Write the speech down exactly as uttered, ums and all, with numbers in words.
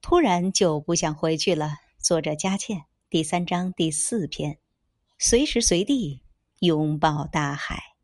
突然就不想回去了。作者佳倩，第三章第四篇，随时随地拥抱大海。